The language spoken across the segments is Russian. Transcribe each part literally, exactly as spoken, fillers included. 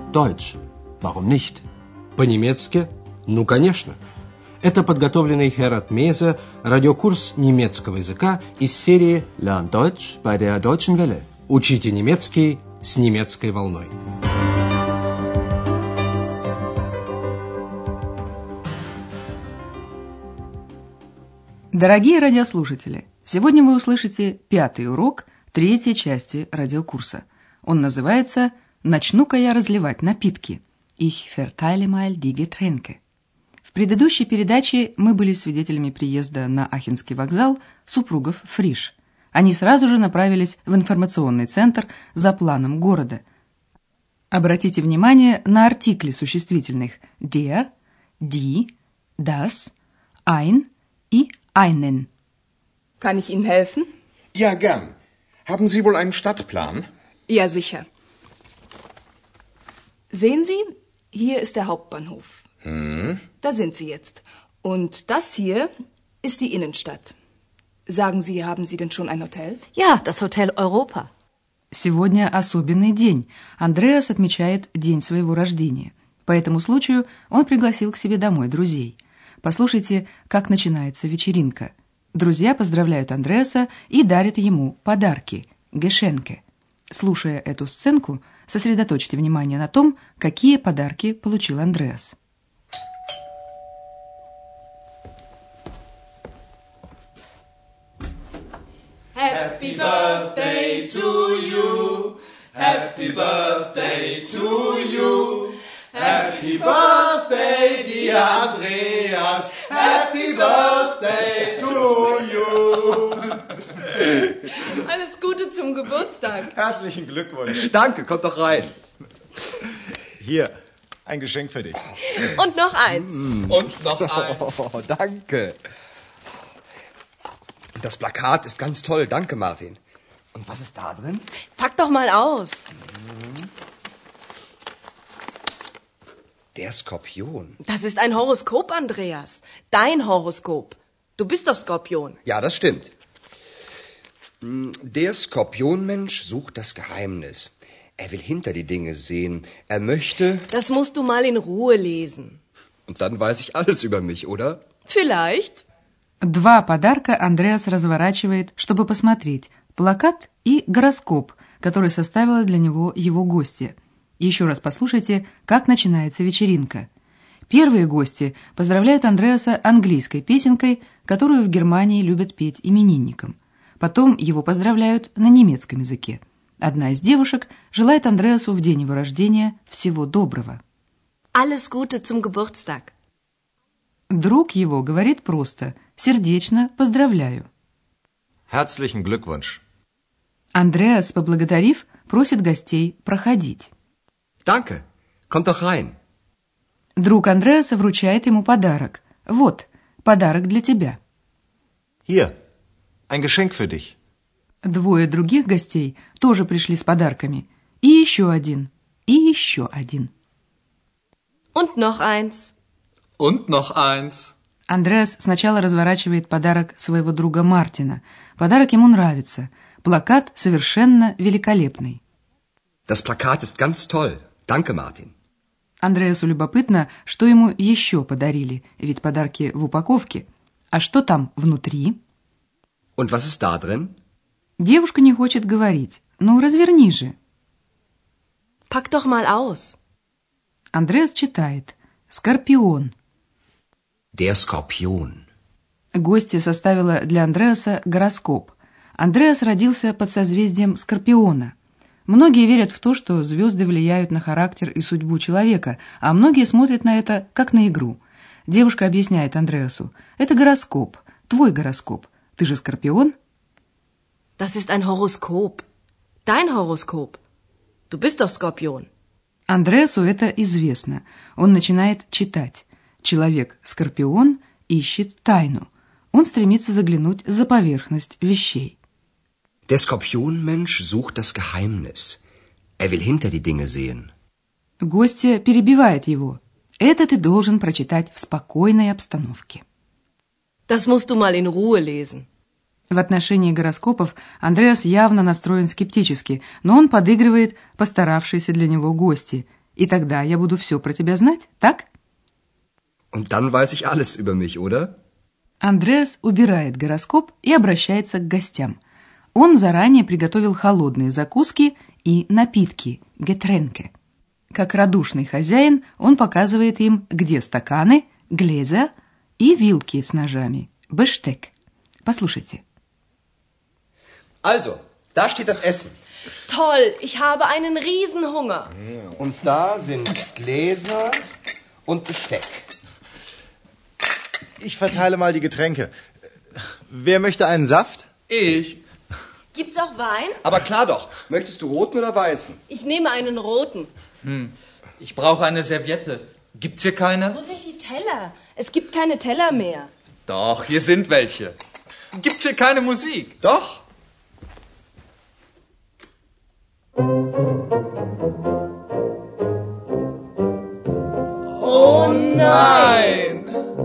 Deutsch. Warum nicht? По-немецки? Ну, конечно. Это подготовленный Херат Мейзе радиокурс немецкого языка из серии Lern Deutsch bei der Deutschen Welle. Учите немецкий с немецкой волной. Дорогие радиослушатели, сегодня вы услышите пятый урок третьей части радиокурса. Он называется «Начну-ка я разливать напитки» «Ich verteile mal die Getränke». В предыдущей передаче мы были свидетелями приезда на Ахенский вокзал супругов Фриш. Они сразу же направились в информационный центр за планом города. Обратите внимание на артикли существительных der, die, das, ein и einen. Kann ich Ihnen helfen? Ja, gern. Haben Sie wohl einen Stadtplan? Ja, sicher. Sehen Sie, hier ist der Hauptbahnhof. Hm? Da sind Sie jetzt. Und das hier ist die Innenstadt. Sagen Sie, haben Sie denn schon ein Hotel? Ja, das Hotel Europa. Сегодня особенный день. Андреас отмечает день своего рождения. По этому случаю он пригласил к себе домой друзей. Послушайте, как начинается вечеринка. Друзья поздравляют Андреаса и дарят ему подарки – Geschenke. Слушая эту сценку, сосредоточьте внимание на том, какие подарки получил Андреас. Happy birthday to you. Happy birthday to you. Happy birthday, dear Andreas. Happy birthday to you. Alles Gute zum Geburtstag. Herzlichen Glückwunsch. Danke, kommt doch rein. Hier, ein Geschenk für dich. Und noch eins. Und noch eins. Oh, danke. Das Plakat ist ganz toll. Danke, Martin. Und was ist da drin? Pack doch mal aus. Der Skorpion. Das ist ein Horoskop, Andreas. Dein Horoskop. Du bist doch Skorpion. Ja, das stimmt. Der Skorpionmensch sucht das Geheimnis. Er will hinter die Dinge sehen. Er möchte... Das musst du mal in Ruhe lesen. Und dann weiß ich alles über mich, oder? Vielleicht. Два подарка Андреас разворачивает, чтобы посмотреть. Плакат и гороскоп, который составила для него его гостья. Еще раз послушайте, как начинается вечеринка. Первые гости поздравляют Андреаса английской песенкой, которую в Германии любят петь именинникам. Потом его поздравляют на немецком языке. Одна из девушек желает Андреасу в день его рождения всего доброго. Alles Gute zum Geburtstag. Друг его говорит просто «сердечно поздравляю». Herzlichen Glückwunsch. Андреас, поблагодарив, просит гостей проходить. Danke. Kommt doch rein. Друг Андреаса вручает ему подарок. Вот, подарок для тебя. Hier, ein Geschenk für dich. Двое других гостей тоже пришли с подарками. И еще один, и еще один. Und noch eins. Und noch eins. Андреас сначала разворачивает подарок своего друга Мартина. Подарок ему нравится. Плакат совершенно великолепный. Das Plakat ist ganz toll. Danke, Martin. Андреасу любопытно, что ему еще подарили, ведь подарки в упаковке. А что там внутри? Und was ist da drin? Девушка не хочет говорить. Ну, разверни же. Pack doch mal aus. Андреас читает. Скорпион. Der Skorpion. Гостья составила для Андреаса гороскоп. Андреас родился под созвездием Скорпиона. Многие верят в то, что звезды влияют на характер и судьбу человека, а многие смотрят на это как на игру. Девушка объясняет Андреасу. Это гороскоп, твой гороскоп. Ты же Скорпион? Das ist ein Horoskop. Dein Horoskop. Du bist doch Skorpion. Андреасу это известно. Он начинает читать. Человек-скорпион ищет тайну. Он стремится заглянуть за поверхность вещей. Der Skorpionmensch sucht das Geheimnis. Er will hinter die Dinge sehen. Гостья перебивает его. Это ты должен прочитать в спокойной обстановке. Das musst du mal in Ruhe lesen. В отношении гороскопов Андреас явно настроен скептически, но он подыгрывает постаравшейся для него гости. И тогда я буду все про тебя знать, так? Und dann weiß ich alles über mich, oder? Андреас убирает гороскоп и обращается к гостям. Он заранее приготовил холодные закуски и напитки, Getränke. Как радушный хозяин, он показывает им, где стаканы, Gläser и вилки с ножами, Besteck. Послушайте. Also, da steht das Essen. Toll, ich habe einen Riesenhunger. Und da sind Gläser und Besteck. Ich verteile mal die Getränke. Wer möchte einen Saft? Ich. Gibt's auch Wein? Aber klar doch. Möchtest du roten oder weißen? Ich nehme einen roten. Hm. Ich brauche eine Serviette. Gibt's hier keine? Wo sind die Teller? Es gibt keine Teller mehr. Doch, hier sind welche. Gibt's hier keine Musik? Doch. Oh nein!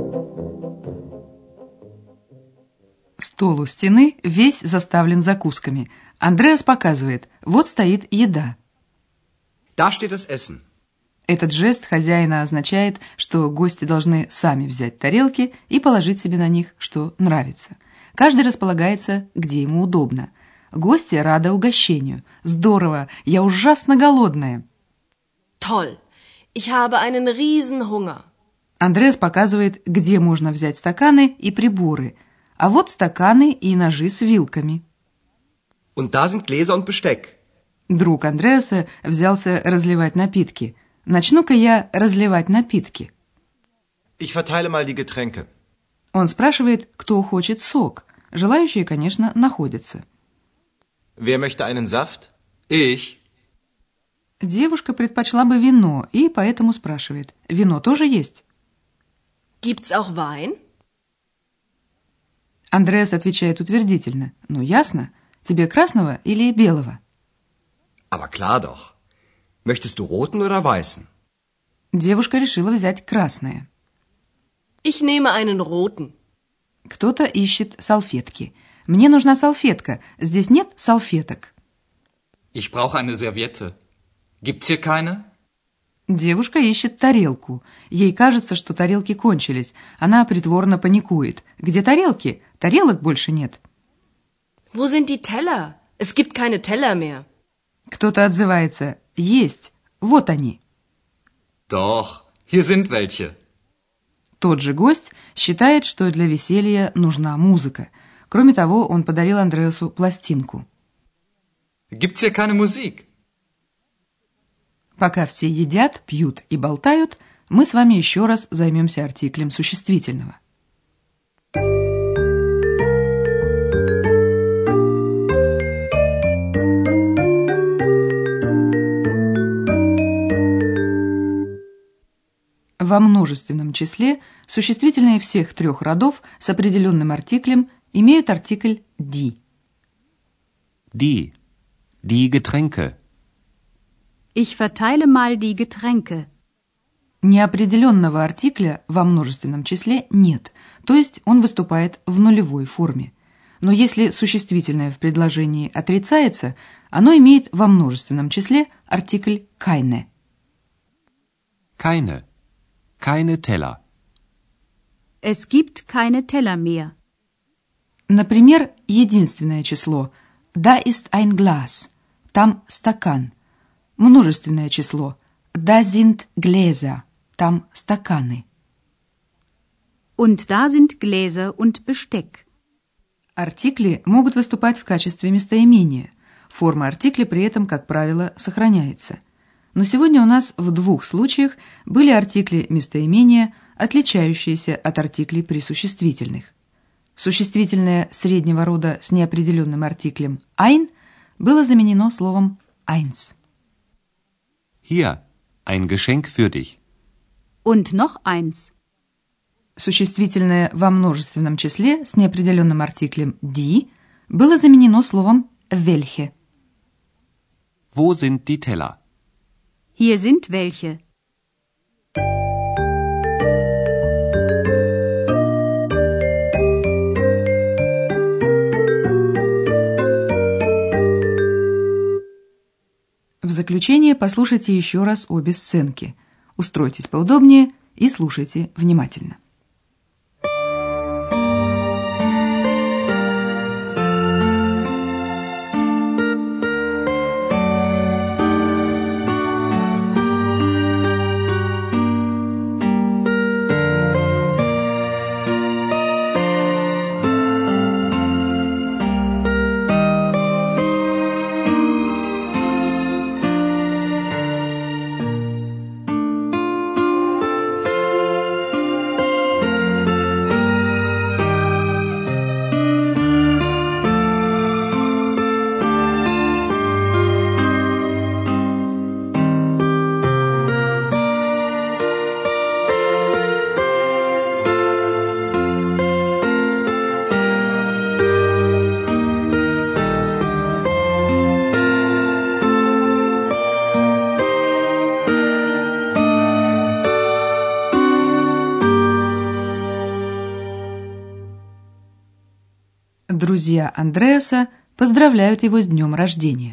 Стол у стены весь заставлен закусками. Андреас показывает, вот стоит еда. Da steht das Essen. Этот жест хозяина означает, что гости должны сами взять тарелки и положить себе на них, что нравится. Каждый располагается, где ему удобно. Гости рады угощению. Здорово, я ужасно голодная. Toll, ich habe einen Riesenhunger. Андреас показывает, где можно взять стаканы и приборы. А вот стаканы и ножи с вилками. Und da sind Gläser und Besteck. Друг Андреаса взялся разливать напитки. Начну-ка я разливать напитки. Ich verteile mal die Getränke. Он спрашивает, кто хочет сок. Желающие, конечно, находятся. Wer möchte einen Saft? Ich. Девушка предпочла бы вино и поэтому спрашивает. Вино тоже есть? Gibt's auch Wein? Андреас отвечает утвердительно. Ну, ясно. Тебе красного или белого? Aber klar doch. Möchtest du roten oder weißen? Девушка решила взять красное. Ich nehme einen roten. Кто-то ищет салфетки. Мне нужна салфетка. Здесь нет салфеток. Ich brauche eine Serviette. Gibt's hier keine? Девушка ищет тарелку. Ей кажется, что тарелки кончились. Она притворно паникует. Где тарелки? Тарелок больше нет. Wo sind die Teller? Es gibt keine Teller mehr. Кто-то отзывается. Есть. Вот они. Doch, hier sind welche. Тот же гость считает, что для веселья нужна музыка. Кроме того, он подарил Андреасу пластинку. Gibt's hier keine Musik? Пока все едят, пьют и болтают, мы с вами еще раз займемся артиклем существительного. Во множественном числе существительные всех трех родов с определенным артиклем имеют артикль «die». Die. Die Getränke. Ich verteile mal die Getränke. Неопределенного артикля во множественном числе нет, то есть он выступает в нулевой форме. Но если существительное в предложении отрицается, оно имеет во множественном числе артикль keine. Keine. Keine Teller. Es gibt keine Teller mehr. Например, единственное число «Da ist ein Glas» – там стакан. Множественное число «Da sind Gläser» – там стаканы. Und da sind Gläser und Besteck. Артикли могут выступать в качестве местоимения. Форма артикля при этом, как правило, сохраняется. Но сегодня у нас в двух случаях были артикли местоимения, отличающиеся от артиклей присуществительных. Существительное среднего рода с неопределенным артиклем ein было заменено словом eins. Hier, ein Geschenk für dich. Und noch eins. Существительное во множественном числе с неопределенным артиклем die было заменено словом welche. Wo sind die Teller? Hier sind welche. В заключение послушайте еще раз обе сценки. Устройтесь поудобнее и слушайте внимательно. Друзья Андреаса поздравляют его с днем рождения.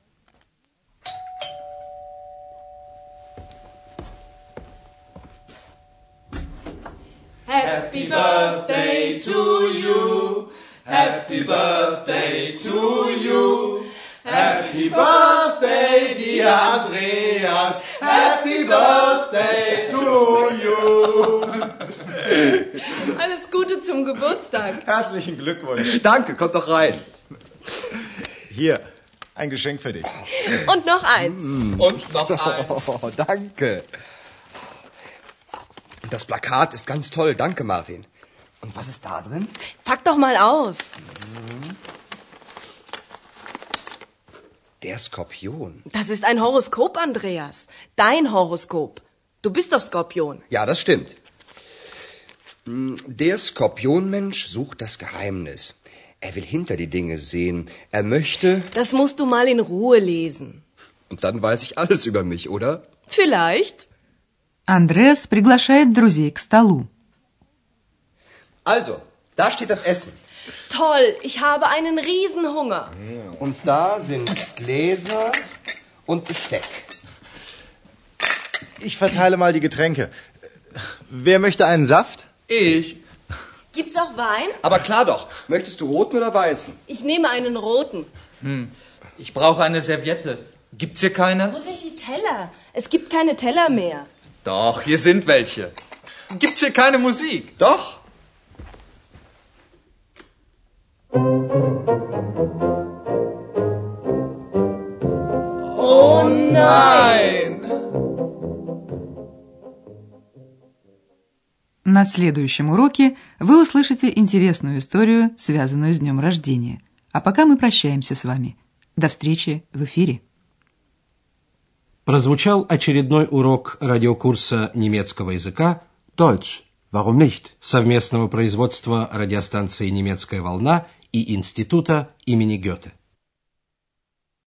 Happy birthday to you. Happy birthday to you. Happy birthday, dear Andreas. Happy birthday to you. Alles Gute zum Geburtstag. Herzlichen Glückwunsch. Danke, kommt doch rein. Hier, ein Geschenk für dich. Und noch eins. Und noch eins. Oh, danke. Das Plakat ist ganz toll. Danke, Martin. Und was ist da drin? Pack doch mal aus. Der Skorpion. Das ist ein Horoskop, Andreas. Dein Horoskop. Du bist doch Skorpion. Ja, das stimmt. Der Skorpionmensch sucht das Geheimnis. Er will hinter die Dinge sehen. Er möchte... Das musst du mal in Ruhe lesen. Und dann weiß ich alles über mich, oder? Vielleicht. Андреас приглашает друзей к столу. Also, da steht das Essen. Toll, ich habe einen Riesenhunger. Und da sind Gläser und Besteck. Ich verteile mal die Getränke. Wer möchte einen Saft? Ich. Gibt's auch Wein? Aber klar doch. Möchtest du roten oder weißen? Ich nehme einen roten. Hm. Ich brauche eine Serviette. Gibt's hier keine? Wo sind die Teller? Es gibt keine Teller mehr. Doch, hier sind welche. Gibt's hier keine Musik? Doch. Oh nein! На следующем уроке вы услышите интересную историю, связанную с днем рождения. А пока мы прощаемся с вами. До встречи в эфире. Прозвучал очередной урок радиокурса немецкого языка Deutsch, warum nicht? совместного производства радиостанции «Немецкая волна» и Института имени Гёте.